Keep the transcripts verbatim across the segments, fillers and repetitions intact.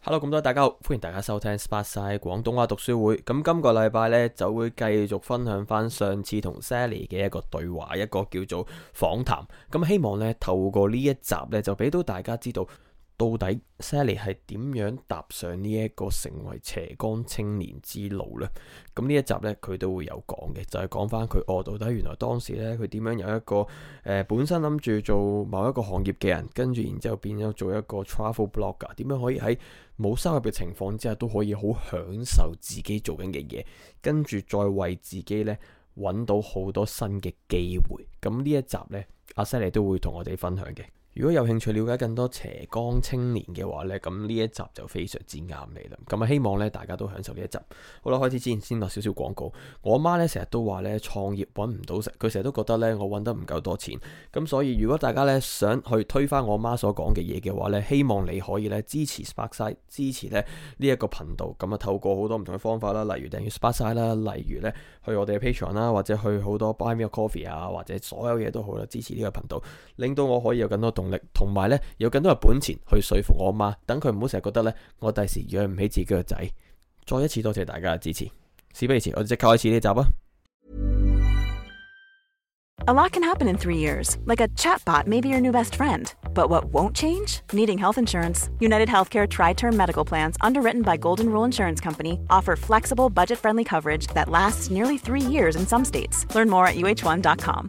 Hello，咁多位大家好，歡迎大家收聽 Sparkside 廣東話讀書會。咁今個禮拜呢，就會繼續分享翻上次同 Sally 嘅一個對話，一個叫做訪談。咁希望呢，透過呢一集呢，就俾到大家知道，到底 Sally 係點樣踏上呢一個成為斜槓青年之路呢？咁呢一集呢，佢都會有講嘅，就係講翻佢哦，到底原來當時呢，佢點樣由一個誒、呃、本身諗住做某一個行業嘅人，跟住然之後變咗做一個 travel blogger，點樣可以喺冇收入嘅情況之下都可以好享受自己做緊嘅嘢，跟住再為自己呢揾到好多新嘅機會。咁呢一集呢，阿 Sally 都會同我哋分享嘅。如果有興趣了解更多斜槓青年嘅話呢，咁呢一集就非常之啱你啦。咁啊，希望咧大家都享受呢一集。好啦，開始之前先落少少廣告。我阿媽咧成日都話咧創業揾唔到食，佢成日都覺得咧我揾得唔夠多錢。咁所以如果大家咧想去推翻我媽所講嘅嘢嘅話咧，希望你可以咧支持 Sparkside， 支持咧呢一個頻道。咁啊，透過好多唔同嘅方法啦，例如訂閱 Sparkside 啦，例如咧去我哋嘅 Patreon 啦，或者去好多 Buy Me a Coffee 啊，或者所有嘢都好啦，支持呢個頻道，令到我可以有更多動力，同埋咧有更多嘅本錢去說服我媽，等佢唔好成日覺得咧我第時養唔起自己個仔。再一次多謝大家嘅支持。事不宜遲，我哋即刻開始呢集啊！ A lot can happen in three years, like a chatbot may be your new best friend. But what won't change? Needing health insurance. United Healthcare Tri-Term Medical Plans, underwritten by Golden Rule Insurance Company, offer flexible, budget-friendly coverage that lasts nearly three years in some states. Learn more at U H one dot com.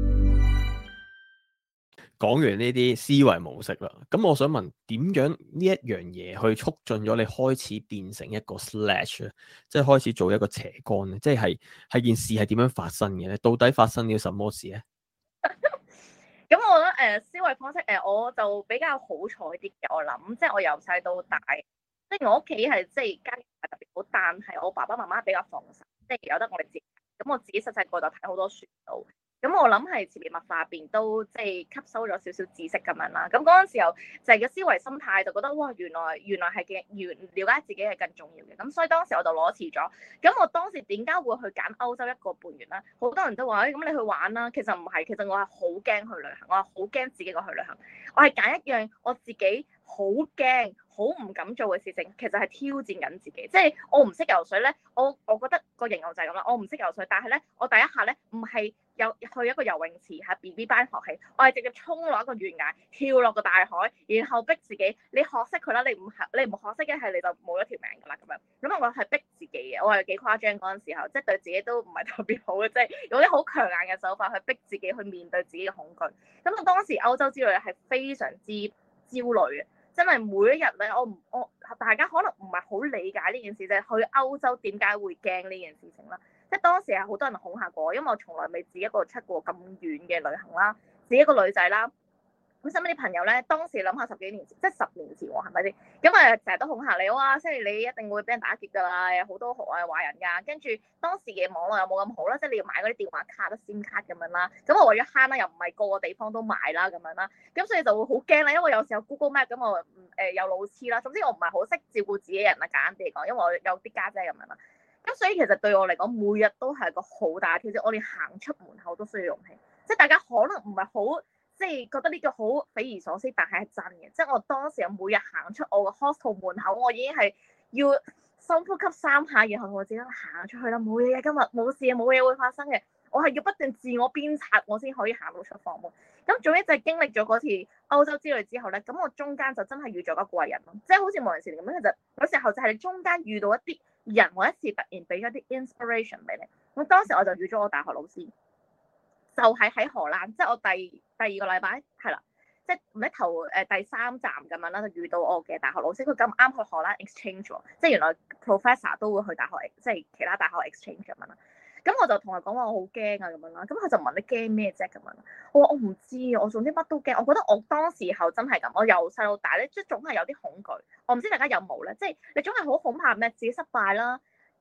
講完呢啲思維模式啦，咁我想問點樣呢一樣嘢去促進咗你開始變成一個 slash 咧，即係開始做一個斜槓咧，即係係件事係點樣發生嘅咧？到底發生咗什麼事咧？ 咁我覺得誒、呃、思維方式誒、呃、我就比較好彩啲嘅，我諗即係我由細到大，即係我屋企係即係家境唔係特別好，但係我爸爸媽媽比較放手，即係由得我哋自己。咁我自己細細個就睇好多書到。咁我諗係潛移默化入邊都即係吸收咗少少知識咁樣啦。咁嗰陣時候就係個思維心態就覺得哇，原來原來係嘅，原了解自己係更重要嘅。咁所以當時我就攞辭咗。咁我當時點解會去揀歐洲一個半月咧？好多人都話誒，咁、哎、你去玩啦。其實唔係，其實我係好驚去旅行，我係好驚自己個去旅行。我係揀一樣我自己好驚、好唔敢做嘅事情，其實係挑戰緊自己。即係我唔識游水咧，我我覺得個形容就係咁啦。我唔識游水，但係咧，我第一下咧唔係有去一個游泳池喺 B B 班學起，我係直接衝落一個懸崖，跳落個大海，然後逼自己，你學識佢啦，你唔學你唔學識嘅係你就冇咗條命㗎啦咁樣。咁我係逼自己嘅，我係幾誇張嗰陣時候，即係對自己都唔係特別好嘅，即係用啲好強硬嘅手法去逼自己去面對自己嘅恐懼。咁我當時歐洲之旅係非常之焦慮嘅。真係每一日咧，我唔我大家可能唔係好理解呢件事，就係去歐洲點解會驚呢件事情啦。即係當時係好多人恐嚇過我，因為我從來未自己一個出過咁遠嘅旅行啦，自己一個女仔啦。咁身邊啲朋友咧，當時諗下十幾年前，即係十年前喎，係咪先？咁啊，成日都恐嚇你，哇！即係你一定會俾人打劫㗎啦，有好多好壞壞人㗎。跟住當時嘅網絡又冇咁好啦，即係你要買嗰啲電話卡、得 SIM 卡咁樣啦。咁我為咗慳啦，又唔係個個地方都買啦咁樣啦。咁所以就會好驚啦，因為有時候 Google Map 咁我誒有路痴啦。總之我唔係好識照顧自己人啦，簡單啲嚟講，因為我有啲家姐咁樣啦。咁所以其實對我嚟講，每日都係個好大嘅挑戰。我連行出門口都需要勇氣。即係大家可能唔係好。即係覺得呢個好匪夷所思，但係係真嘅。即係我當時每日行出我個 hostel 門口，我已經係要深呼吸三下，然後我自己行出去啦，冇嘢嘅，今日冇事，冇嘢會發生嘅。我係要不斷自我鞭策，我先可以行到出房門。咁總之就係經歷咗嗰次歐洲之旅之後咧，咁我中間就真係遇咗個貴人咯，即係好似無人時咁樣。其實有時候就係你中間遇到一啲人或一次突然俾咗啲 inspiration 俾你。咁當時我就遇咗我大學老師。就係喺荷蘭，即係我第第二個禮拜係啦，即係唔係頭誒第三站咁樣啦，就遇到我嘅大學老師，佢咁啱去荷蘭 exchange 喎，即係原來 professor 都會去大學，即係其他大學 exchange 咁樣啦。咁我就同佢講話我好驚啊咁樣啦，咁佢就問你驚咩啫咁樣，我話我唔知啊，我總之乜都驚，我覺得我當時候真係咁，我由細到大咧，即係總係有啲恐懼，我唔知大家有冇咧，即係你總係好恐怕咩自己失敗啦。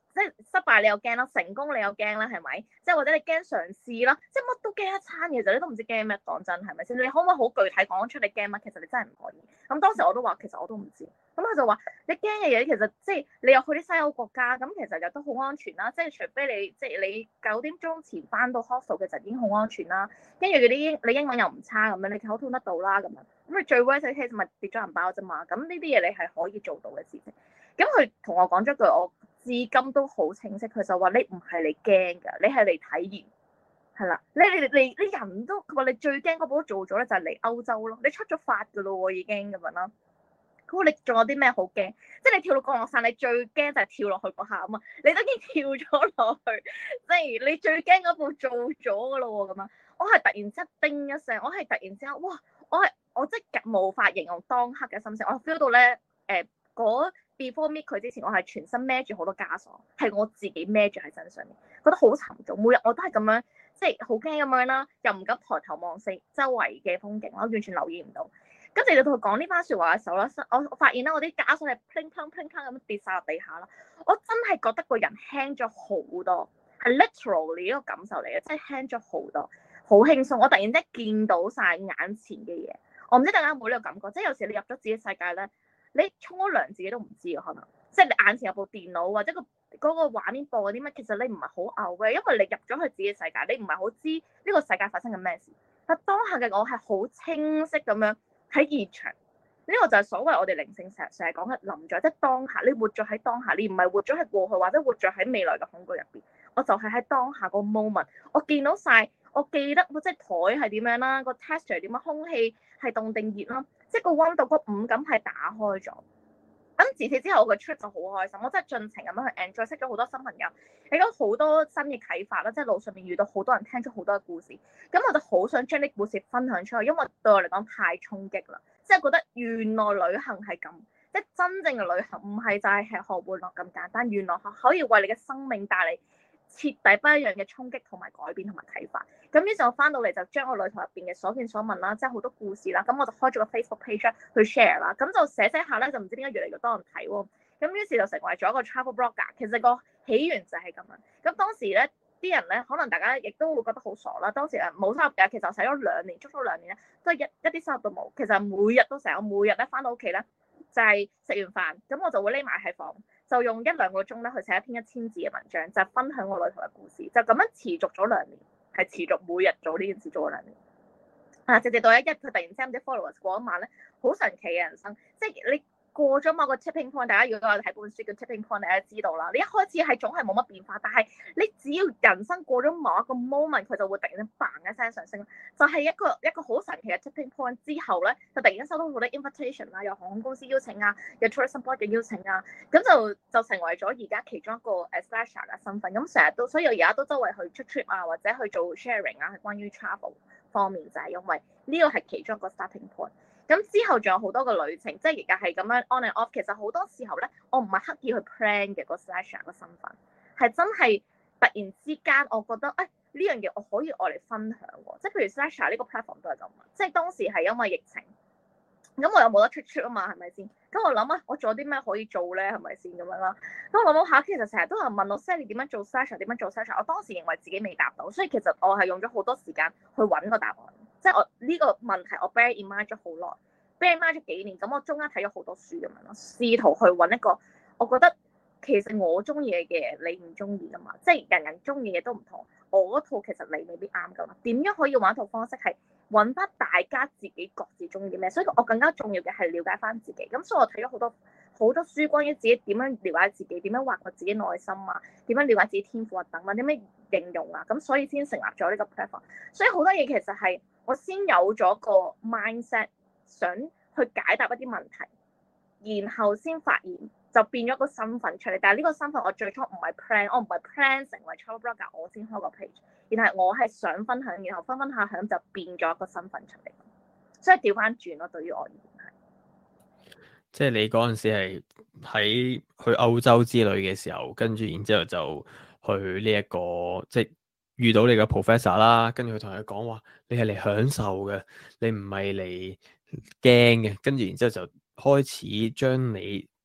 即係失敗你又驚啦，成功你又驚啦，係咪？即係或者你驚嘗試啦，即係乜都驚一餐嘅，其實你都唔知驚咩。講真係咪先？你可唔可以好具體講出你驚乜？其實你真係唔可以。咁當時我都話其實我都唔知。咁佢就話你驚嘅嘢其實即係你又去啲西歐國家，咁其實又都好安全啦。即係除非你即係你九點鐘前翻到 hostel 其實已經好安全啦。跟住嗰啲英你英文又唔差咁樣，你溝通得到啦咁樣。咁你最 worst case 咪跌咗銀包啫嘛。咁呢啲嘢你係可以做到嘅事情。咁佢同我講咗句我至今都好清晰，佢就話你唔係你驚㗎，你係嚟體驗，係啦，你你你你人都佢話你最驚嗰步都做咗咧，就係嚟歐洲咯，你出咗發㗎咯喎已經咁樣啦。佢話你仲有啲咩好驚？即係你跳到降落傘，你最驚就係跳落去嗰下啊嘛，你都已經跳咗落去，即係你最驚嗰步做咗㗎咯喎咁啊！我係突然之間叮一聲，我係突然之間哇！我係我即係無法形容當刻嘅心情，我 feel 到咧誒嗰。before meet 佢之前，我係全身孭住好多枷鎖，係我自己孭住喺身上面，覺得好沉重。每日我都係咁樣，即係好驚咁樣啦，又唔敢抬頭望四周圍嘅風景，我完全留意唔到。跟住你同佢講呢番説話嘅時候咧，我我發現咧，我啲枷鎖係 pling pling pling pling 咁樣跌晒落地下啦。我真係覺得個人輕咗好多，係 literally 呢個感受嚟嘅，即係輕咗好多，好輕鬆。我突然之間見到晒眼前嘅嘢，我唔知大家有冇呢個感覺，即係有時你入咗自己世界咧。你沖咗涼自己都唔知啊，可能即係你眼前有部電腦或者個嗰個畫面播嗰啲乜，其實你唔係好 aware，因為你入咗去自己世界，你唔係好知呢個世界發生緊咩事。但當下嘅我係好清晰咁樣喺現場，呢個就係所謂我哋靈性成日成日講嘅臨在，即係當下，你活咗喺當下，你唔係活咗喺過去或者活咗喺未來嘅恐懼入邊。我就係喺當下個 moment，我見到晒，我記得即係台係點樣啦，個 texture 係點樣，空氣係凍定熱啦。即係個溫度、個五感係打開咗。咁自此之後，我個 trip 就好開心，我真係盡情咁樣去 enjoy，識咗好多新朋友，亦都好多新嘅啟發啦。即係路上面遇到好多人，聽咗好多嘅故事，咁我就好想將啲故事分享出去，因為對我嚟講太衝擊啦。即係覺得原來旅行係咁，即係真正嘅旅行唔係就係吃喝玩樂咁簡單，原來可以為你嘅生命帶嚟徹底不一樣嘅衝擊同埋改變同埋啟發。咁於是我翻到嚟就將我旅途入邊嘅所見所聞啦，即係好多故事啦，咁我就開咗個 Facebook page 去 share 啦，咁就寫寫下咧，就唔知點解越嚟越多人睇喎。咁於是就成為咗一個 travel blogger。其實個起源就係咁樣。咁當時咧啲人咧，可能大家亦都會覺得好傻啦。當時誒冇收入嘅，其實我使咗兩年，足足兩年咧，都係一一啲收入都冇。其實每日都成日，我每日咧翻到屋企咧就係、是、食完飯，咁我就會匿埋喺房，就用一兩個鐘咧去寫一篇一千字嘅文章，就係、分享我旅途嘅故事，就咁樣持續咗兩年。係持續每日做呢件事做咗兩年，啊！直至到一日佢突然之間啲 followers 過一萬咧，好神奇嘅人生，即係你過咗某個 tipping point，大家如果我哋睇本書叫 tipping point，大家知道啦。你一開始係總係冇乜變化，但係你只要人生過咗某一個 moment，佢就會突然間 bang 一聲上升，就係、是、一個一個好神奇嘅 tipping point 之後咧，就突然間收到好多 invitation 啦，有航空公司邀請啊，有 tourism board 嘅邀請啊，咁就就成為咗而家其中一個誒 slasher 嘅身份。咁成日都，所以我而家都周圍去出 trip 啊，或者去做 sharing 啊，係關於 travel 方面，就係、是、因為呢個係其中一個 starting point。咁之後仲有好多個旅程，即係而家係咁樣 on and off。其實好多時候咧，我唔係刻意去 plan 嘅個 slasher 個身份，係真係突然之間，我覺得誒呢樣嘢我可以愛嚟分享喎。即係譬如 slasher 呢個 platform 都係咁啊，即係當時係因為疫情，咁我又冇得出出啊嘛，係咪先？咁我諗啊，我做啲咩可以做咧？係咪先咁樣啦？咁我諗下，其實成日都有人問我 Sally 點樣做 slasher，點樣做 slasher。我當時認為自己未答到，所以其實我係用咗好多時間去揾個答案。即係我呢個問題，我 bear in mind 咗好耐。bear in mind 咗幾年，咁我中間睇咗好多書咁樣咯，試圖去揾一個我覺得其實我中意嘅嘢，你唔中意噶嘛，即係人人中意嘅嘢都唔同。我嗰套其實你未必啱噶嘛，點樣可以揾一套方式係揾翻大家自己各自中意咩？所以我更加重要嘅係了解翻自己。咁所以我睇咗好多好多書，關於自己點樣了解自己，點樣挖掘自己內心啊，點樣了解自己天賦啊等啊，點樣形容啊，咁所以先成立咗呢個 platform。所以好多嘢其實係我先有咗個 mindset。想去解答一啲問題，然後先發現就變咗個身份出嚟。但係呢個身份我最初唔係 plan，我唔係 plan 成為 travel blogger，我先開個 page。然後我係想分享，然後分分下響就變咗一個身份出嚟。所以調翻轉咯，對於我而言係。 即係你嗰陣時係喺去歐洲之旅嘅時候，跟住然之後就去呢、這、一個即係遇到你嘅 professor 啦，跟住佢同佢講話，你係嚟享受嘅，你唔係嚟驚嘅，跟住然之後就開始將你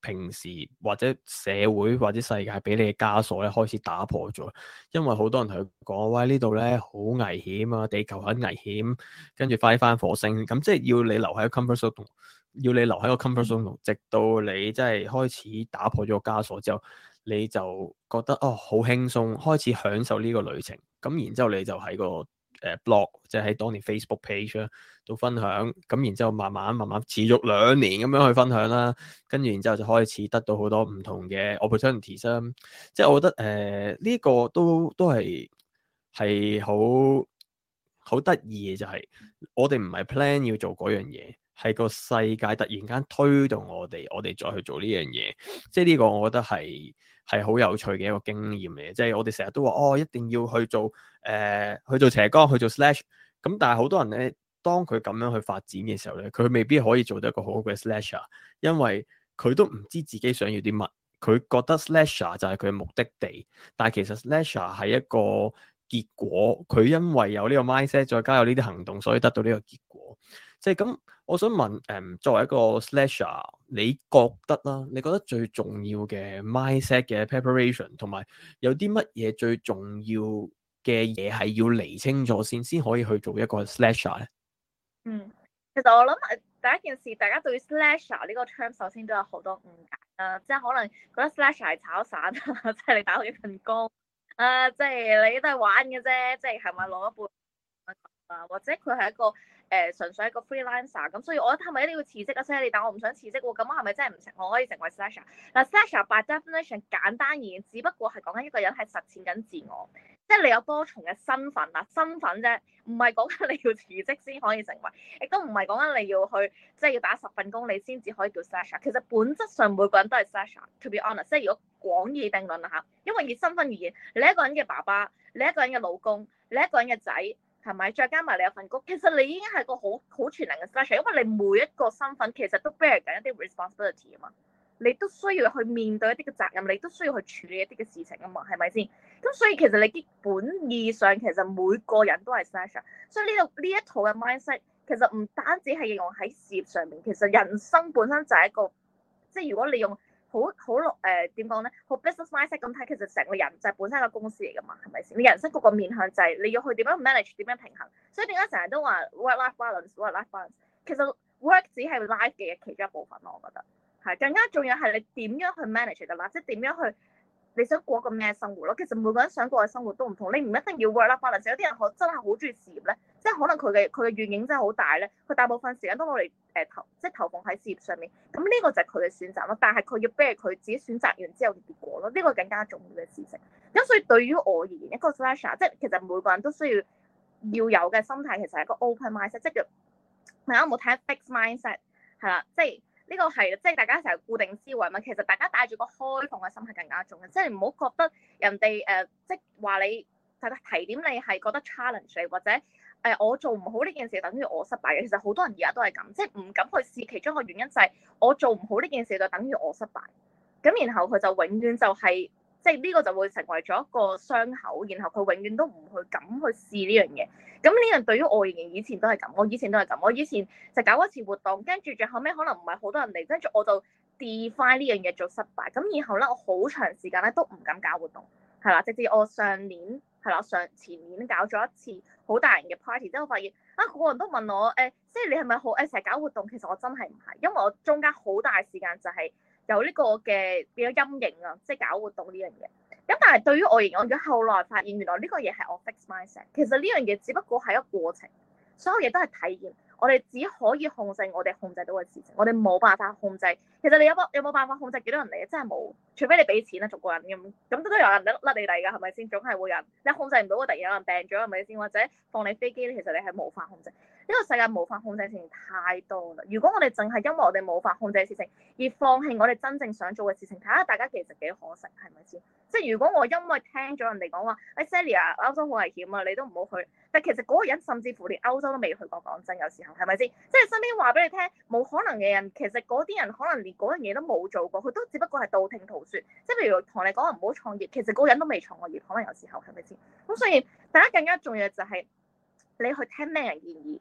平時或者社會或者世界俾你嘅枷鎖咧開始打破咗，因為好多人同佢講，喂，呢度咧好危險啊，地球很危險，跟住快啲翻火星，咁即係要你留喺個 comfort zone 度，要你留喺個 comfort zone 度，直到你真係開始打破咗個枷鎖之後，你就覺得哦好輕鬆，開始享受呢個旅程，咁然之後你就喺個誒 blog，即係喺當年 Facebook page 啦，度分享，咁然之後慢慢慢慢持續兩年咁樣去分享啦，跟住然之後就開始得到好多唔同嘅 opportunities 啦，即係我覺得誒呢、呃這個都都係係好好得意嘅，就係、是、我哋唔係 plan 要做嗰樣嘢，係個世界突然間推動我哋，我哋再去做呢樣嘢，即係呢個我覺得係係好有趣嘅一個經驗嚟嘅，即係我哋成日都話哦，一定要去做誒、呃、去做斜槓，去做 slash，咁但係好多人咧，當佢咁樣去發展嘅時候咧，佢未必可以做到一個好好嘅 slasher，因為佢都唔知自己想要啲乜，佢覺得 slasher 就係佢嘅目的地，但係其實 slasher 係一個結果，佢因為有呢個 mindset，再加有呢啲行動，所以得到呢個結果。即係咁，我想問誒、嗯，作為一個 slasher，你覺得啦？你覺得最重要嘅 mindset 嘅 preparation，同埋有啲乜嘢最重要嘅嘢係要釐清咗先，先可以去做一個 slasher 咧？ 嗯，其實我諗誒第一件事，大家對於 slasher 呢個 term 首先都有好多誤解啦，即係可能覺得 slasher 係炒散啊，即係你打好一份工啊，即係你都係玩嘅啫，即係係咪攞一半啊？或者佢係一個誒、呃、純粹一個 freelancer 咁，所以我覺得係咪一定要辭職啊？Sally，但我唔想辭職喎，咁我係咪真係唔成？我可以成為 slasher？嗱 slasher by definition 簡單而言，只不過係講緊一個人係實踐緊自我。即係你有多重嘅身份啦，身份啫，唔係講緊你要辭職先可以成為，亦都唔係講緊你要去即係要打十份工你先至可以叫 slasher。其實本質上每個人都係 slasher。To be honest，即係如果廣義定論啦嚇，因為以身份而言，你一個人嘅爸爸，你一個人嘅老公，你一個人嘅仔，係咪？再加埋你有份工，其實你已經係個好好全能嘅 slasher，因為你每一個身份其實都 bear 緊一啲 responsibility 啊嘛。你都需要去面對一啲嘅責任，你都需要去處理一啲嘅事情啊嘛，係咪先？咁所以其實你基本意上其實每個人都係 slasher，所以呢度呢一套嘅 mindset 其實唔單止係應用喺事業上面，其實人生本身就係一個，即係如果你用好好誒點講咧，好 business mindset 咁睇，其實成個人就係本身一個公司嚟噶嘛，係咪先？你人生各個面向就係你要去點樣 manage， 點樣平衡，所以點解成日都話 work-life balance，work-life balance， 其實 work 只係 life 嘅其中一部分咯，我覺得。係更加重要係你點樣去 manage 㗎啦，即係點樣去你想過個咩生活咯。其實每個人想過嘅生活都唔同，你唔一定要 work-life balance。有啲人可真係好中意事業咧，即係可能佢嘅佢嘅願景真係好大咧，佢大部分時間都攞嚟誒投即係投放喺事業上面。咁呢個就係佢嘅選擇咯。但係佢要 bear 佢自己選擇完之後嘅結果咯，呢個更加重要嘅事情。咁所以對於我而言，一個 slasher 即係其實每個人都需要要有嘅心態，其實係一個 open mindset，即係叫大家有冇睇 fixed mindset 係啦，即係。呢個係即係大家成日固定思維嘛，其實大家帶住個開放嘅心係更加重要，即係唔好覺得人哋誒、呃、即係話你大家提點你係覺得 challenge 你，或者誒、呃、我做唔好呢件事等於我失敗嘅。其實好多人而家都係咁，即係唔敢去試，其中一個原因就係我做唔好呢件事就等於我失敗，咁然後佢就永遠就係、是、即係呢個就會成為咗一個傷口，然後佢永遠都唔去敢去試呢樣嘢。咁呢樣對於我而言，以前都係咁，我以前都係咁，我以前就搞一次活動，跟住最後尾可能唔係好多人嚟，跟住我就 define 呢樣嘢做失敗。咁以後咧，我好長時間咧都唔敢搞活動，係啦，直至我上年係啦，上前年搞咗一次好大型嘅 party，之後發現啊，個個人都問我誒，即係你係咪好誒成日搞活動？其實我真係唔係，因為我中間好大時間就係有呢個嘅變咗陰影啊，即係搞活動呢樣嘢。咁但係對於我而言，我而家後來發現原來呢個嘢係我 fixed mindset。其實呢樣嘢只不過係一個過程，所有嘢都係體驗。我哋只可以控制我哋控制到嘅事情，我哋冇辦法控制。其實你有冇有冇辦法控制幾多人嚟？真係冇，除非你俾錢啦，逐個人咁，咁都都有人甩你嚟㗎，係咪先？總係會有人，你控制唔到，突然有人病咗，係咪先？或者放你飛機咧，其實你係無法控制。呢個世界無法控制嘅事情太多啦。如果我哋淨係因為我哋無法控制嘅事情而放棄我哋真正想做嘅事情，睇下大家其實幾可惜，係咪先？即係如果我因為聽咗人哋講話，誒 Sally 啊，歐洲好危險啊，你都唔好去。但其實嗰個人甚至乎連歐洲都未去過，講真，有時候係咪先？即係身邊話俾你聽冇可能嘅人，其實嗰啲人可能連嗰樣嘢都冇做過，佢都只不過係道聽途説。即係譬如同你講話唔好創業，其實嗰個人都未創過業，可能有時候係咪先？咁所以大家更加重要就係你去聽咩人建議。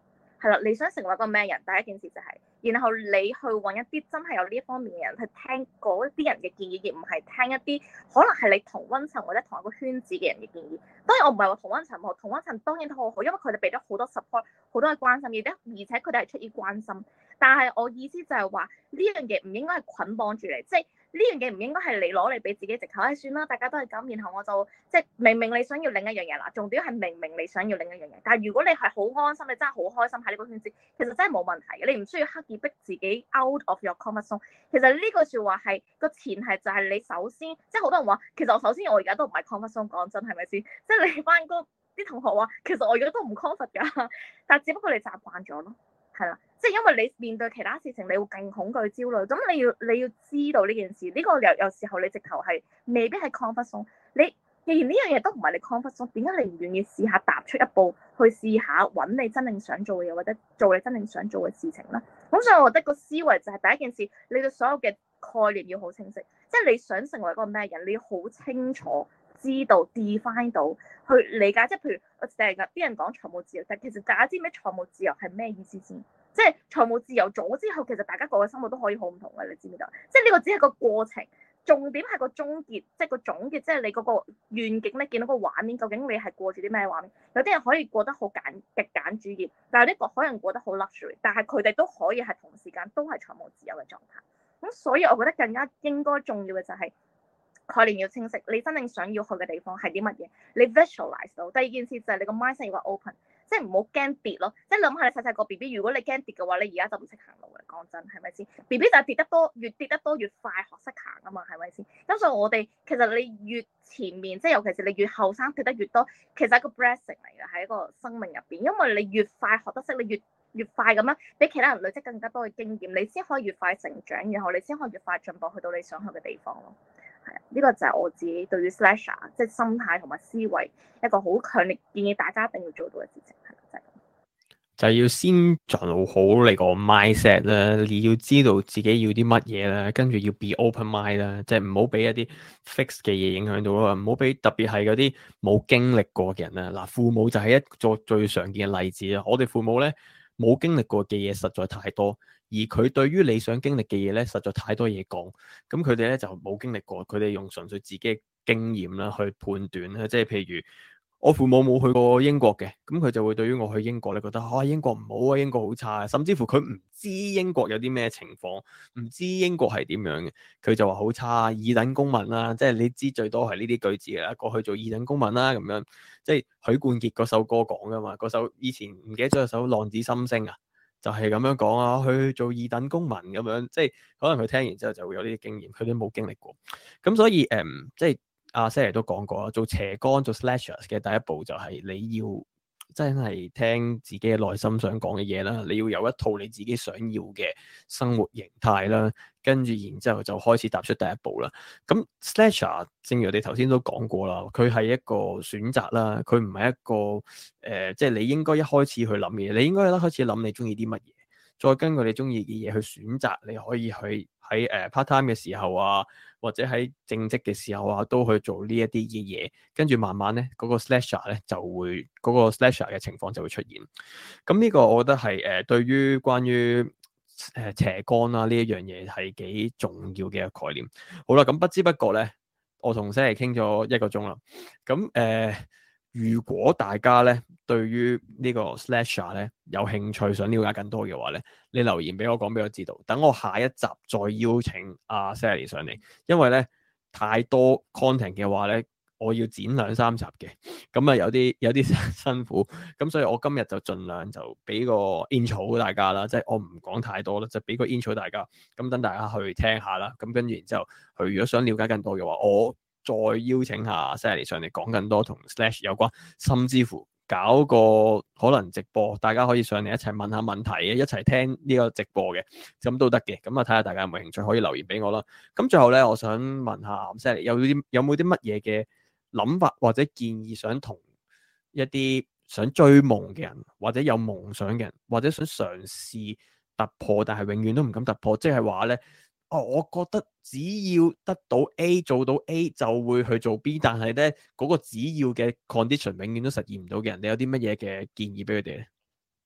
係啦，你想成為一個咩人？第一件事就係、是，然後你去揾一啲真係有呢一方面嘅人去聽嗰啲人嘅建議，而唔係聽一啲可能係你同溫層或者同一個圈子嘅人嘅建議。當然我唔係話同溫層唔好，同溫層當然都好好，因為佢哋俾咗好多 support，好多嘅關心，而且而且佢哋係出於關心。但係我意思就係話呢樣嘢唔應該係捆綁住你，即係。呢樣嘢唔應該係你攞嚟俾自己藉口，唉、哎，算啦，大家都係咁，然後我就即係明明你想要另一樣嘢啦，重點係明明你想要另一樣嘢，但係如果你係好安心，你真係好開心喺呢個圈子，其實真係冇問題嘅，你唔需要刻意逼自己 out of your comfort zone。其實呢句説話係個前提就係你首先，即係好多人話，其實我首先我而家都唔係 comfort zone，講真係咪先？即係你翻工啲同學話，其實我而家都唔 comfort 㗎，但係只不過你習慣咗咯。係啦，即係因為你面對其他事情，你會更恐懼、焦慮。咁你要你要知道呢件事，呢、這個有有時候你直頭係未必係 comfort zone。你既然呢樣嘢都唔係你 comfort zone，點解你唔願意試下踏出一步去試下揾你真正想做嘅嘢，或者做你真正想做嘅事情咧？咁所以我覺得個思維就係第一件事，你對所有嘅概念要好清晰，即係你想成為一個咩人，你要好清楚知道 define 到去理解。即係譬如我成日啲人講財務自由，但其實大家知唔知財務自由係咩意思先？即係財務自由咗之後，其實大家個個生活都可以好唔同嘅，你知唔知道？即係呢個只係個過程，重點係個終結，即係個總結，即係你嗰個願景咧，見到個畫面，究竟你係過住啲咩畫面？有啲人可以過得好簡極簡主義，但係呢個可能過得好 luxury，但係佢哋都可以係同時間都係財務自由嘅狀態。咁所以我覺得更加應該重要嘅就係、是。概念要清晰，你真正想要去嘅地方係啲乜嘢？你 visualize 到。第二件事就係你個 mindset 要 open，即係唔好驚跌咯。即係諗下你細細個 B B，如果你驚跌嘅話，你而家就唔識行路嘅。講真係咪先 ？B B 就係跌得多，越跌得多越快學識行啊嘛，係咪先？咁所以我哋其實你越前面，即係尤其是你越後生跌得越多，其實係一個 blessing 嚟嘅，喺一個生命入邊，因為你越快學得識，你越越快咁樣俾其他人累積更加多嘅經驗，你先可以越快成長，然後你先可以越快進步去到你想去嘅地方咯。係啊，呢個就係我自己對於 slasher 即係心態同埋思維一個好強烈建議大家一定要做到嘅事情，係就係咁。 就係要先做好你個 mindset 啦，你要知道自己要啲乜嘢啦，跟住要 be open mind 啦，即係唔好俾一啲 fix 嘅嘢影響到啦，唔好俾特別係嗰啲冇經歷過嘅人啦。嗱，父母就係一個最常見嘅例子啦。我哋父母咧冇經歷過嘅嘢實在太多。而佢對於你想經歷嘅嘢咧，實在太多嘢講，咁佢哋咧就冇經歷過，佢哋用純粹自己嘅經驗啦去判斷啦，即係譬如我父母冇去過英國嘅，咁佢就會對於我去英國咧覺得啊英國唔好啊，英國好差，甚至乎佢唔知英國有啲咩情況，唔知英國係點樣嘅，佢就話好差，二等公民啦，即係你知最多係呢啲句子嘅啦，過去做二等公民啦咁樣，即係許冠傑嗰首歌講噶嘛，嗰首以前唔記得咗有首《浪子心聲》啊。就係咁樣講啊，去做二等公民咁樣，即係可能佢聽完之後就會有呢啲經驗，佢都冇經歷過。咁所以誒、嗯，即係阿 Sally 都講過啦，做斜桿做 slashers 嘅第一步就係你要真係聽自己嘅內心想講嘅嘢啦，你要有一套你自己想要嘅生活形態啦，跟住然之後就開始踏出第一步啦。咁 slasher 正如我哋頭先都講過啦，佢係一個選擇啦，佢唔係一個誒，即、呃、係、就是、你應該一開始去諗嘅嘢，你應該一開始諗你中意啲乜嘢，再根據你中意嘅嘢去選擇，你可以去喺誒 part time 嘅時候啊，或者喺正職嘅時候啊，都去做呢一啲嘅嘢，跟住慢慢咧嗰、那個 slasher 咧就會嗰、那個 slasher 嘅情況就會出現。咁呢個我覺得係誒、呃、對於關於誒、呃、斜桿啦呢一樣嘢係幾重要嘅一個概念。好啦，咁不知不覺咧，我同 Sally 傾咗一個鐘啦。咁誒、呃，如果大家咧對於呢個 slasher 咧有興趣，想了解更多嘅話咧，你留言俾我講俾我知道，等我下一集再邀請阿 Sally 上嚟，因為咧太多 content 嘅話咧，我要剪兩三集嘅，咁啊有啲有啲辛苦，咁所以我今日就盡量就俾個 intro 大家啦，即係我唔講太多啦，就俾個 intro 大家，咁等大家去聽下啦，咁跟住然之後，佢如果想了解更多嘅話，我再邀請下 Sally 上嚟講更多同 Slash 有關，甚至乎搞個可能直播，大家可以上嚟一齊問下問題嘅，一齊聽呢個直播嘅，咁都得嘅。咁啊睇下大家有冇興趣，可以留言俾我啦。咁最後咧，我想問下 Sally 有啲有冇啲乜嘢嘅諗法或者建議，想同一啲想追夢嘅人，或者有夢想嘅人，或者想嘗試突破但係永遠都唔敢突破，即係話咧。哦，我覺得只要得到 A 做到 A 就會去做 B， 但係咧嗰個只要嘅 condition 永遠都實現唔到嘅人，你有啲乜嘢嘅建議俾佢哋咧？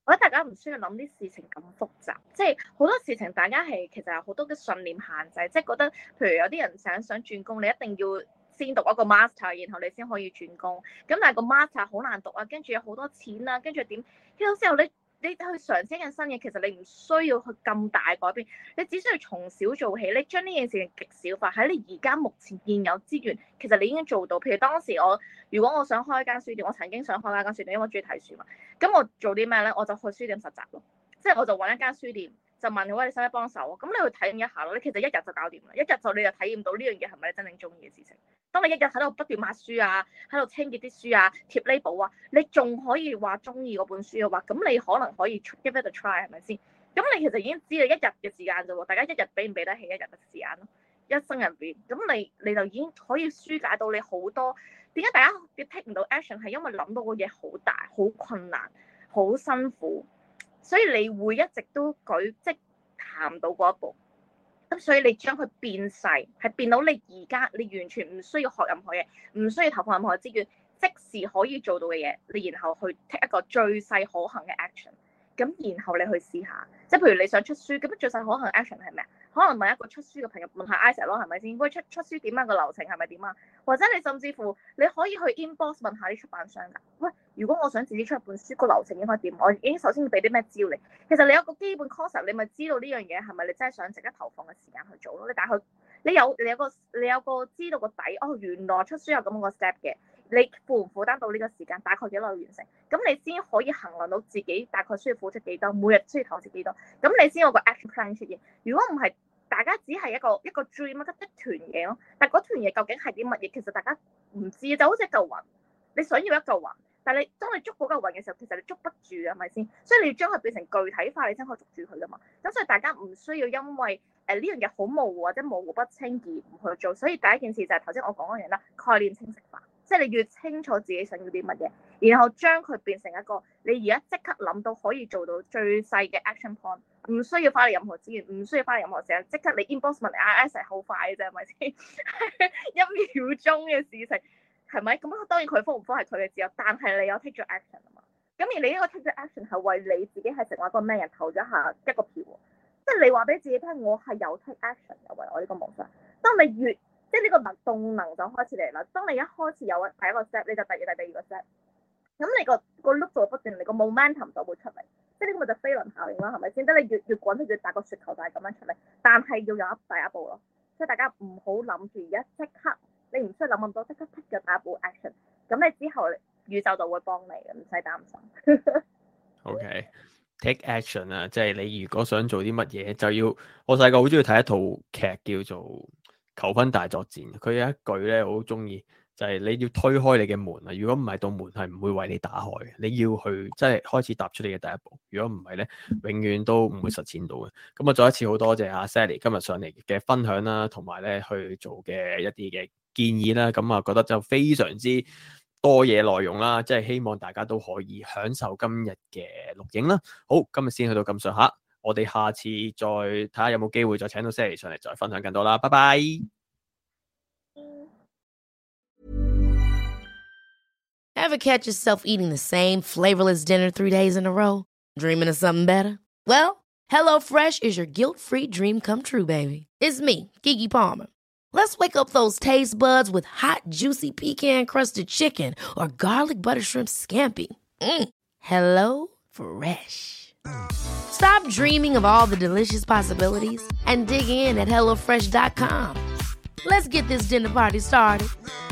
我覺得大家唔需要諗啲事情咁複雜，即係好多事情大家係其實有好多嘅信念限制，即係覺得譬如有啲人想想轉工，你一定要先讀一個 master，然後你先可以轉工。咁但係個 master 好難讀啊，跟住有好多錢啊，跟住點？跟住之後你你去嘗試一樣新嘢，其實你唔需要去咁大改變，你只需要從小做起，你將呢件事情極小化，喺你而家目前現有資源，其實你已經做到。譬如當時我如果我想開一間書店，我曾經想開一間書店，因為我中意睇書嘛。咁我做啲咩咧？我就去書店實習咯，即係我就揾一間書店。就問喂，你使唔使幫手？咁你去體驗一下咯。你其實一日就搞掂啦，一日就你就體驗到呢樣嘢係咪你真正中意嘅事情。當你一日喺度不斷抹書啊，喺度清潔啲書啊，貼 label 啊，你仲可以話中意嗰本書嘅話，咁你可能可以 give it a try 係咪先？咁你其實已經知你一日嘅時間啫喎，大家一日俾唔俾得起一日嘅時間咯？一生入邊，咁你你就已經可以疏解到你好多。點解大家要 take 唔到 action？ 係因為諗到個嘢好大、好困難、好辛苦。所以你會一直都舉即係行唔到嗰一步，咁所以你將佢變細，係變到你而家你完全唔需要學任何嘢，唔需要投放任何資源，即時可以做到嘅嘢，你然後去 take 一個最細可行嘅 action， 咁然後你去試下，即係譬如你想出書，咁最細可行 action 係咩？可能問一個出書嘅朋友，問下 Isaac 咯，係咪先？喂，出出書點啊？個流程係咪點啊？或者你甚至乎你可以去 inbox 問下啲出版商㗎。喂，如果我想自己出一本書，個流程應該點？我已經首先要俾啲咩資料你。其實你有個基本 concept，你咪知道呢樣嘢係咪你真係想值得投放嘅時間去做咯。你大概你有你有個你有個知道個底，哦，原來出書有咁個 step 嘅。你負唔負擔到呢個時間？大概幾耐完成？咁你先可以衡量到自己大概需要付出幾多，每日需要投資幾多，咁你先有個 action plan 出現。如果唔係，大家只係一個一個 dream 一團嘢咯，但係嗰團嘢究竟係啲乜嘢？其實大家唔知，就好似一嚿雲，你想要一嚿雲，但係你當你捉嗰嚿雲嘅時候，其實你捉不住係咪先？所以你要將佢變成具體化，你先可以捉住佢噶嘛。咁所以大家唔需要因為誒呢樣嘢好模糊或者模糊不清而唔去做。所以第一件事就係頭先我講嗰樣啦，概念清晰化。即係你越清楚自己想要啲乜嘢，然後將佢變成一個你而家即刻諗到可以做到最細嘅 action point， 唔需要花你任何資源，唔需要花你任何時間，即刻你 inbox 問 I S 係好快嘅啫，係咪先？一秒鐘嘅事情係咪？咁當然佢科唔科係佢嘅自由，但係你有 take 咗 action 啊嘛。咁而你呢個 take 咗 action 係為你自己係成為一個咩人投咗下一個票，即係你話俾自己聽，我係有 take action 嘅為我呢個夢想。當你越即係呢個能動能就開始嚟啦。當你一開始有第一個 step，你就第二、第第二個 step，咁你個個 loop 就會不斷，你個 momentum 就會出嚟。即係呢個咪就飛輪效應啦，係咪先？得你越越滾，越大個雪球就係咁樣出嚟。但係要有一第一步咯，所以大家唔好諗住而家即刻，你唔需要諗咁多，即刻 take 咗第一步 action。咁你之後宇宙就會幫你嘅，唔使擔心。 OK，take action 啊！即係你如果想做啲乜嘢，就要我細個好中意睇一套劇叫做求婚大作戰，佢有一句咧我好中意，就係、是、你要推開你嘅門啊！如果唔係，道門係唔會為你打開嘅。你要去即係開始踏出你嘅第一步。如果唔係咧，永遠都唔會實踐到嘅。咁啊，再一次好多謝阿 Sally 今日上嚟嘅分享啦，同埋咧去做嘅一啲嘅建議啦。咁啊，覺得就非常之多嘢內容啦，即係希望大家都可以享受今日嘅錄影啦。好，今日先去到咁上下。我哋下次再睇下有冇機會再請到 Sally 上嚟再分享更多啦，拜拜。 Ever catch yourself eating the same flavorless dinner three days in a row? Dreaming of something better? Well, HelloFresh is your guilt-free dream come true, baby. It's me, Keke Palmer. Let's wake up those taste buds with hot, juicy pecan-crusted chicken or garlic butter shrimp scampi. Mm. Hello Fresh. Stop dreaming of all the delicious possibilities and dig in at hello fresh dot com. Let's get this dinner party started.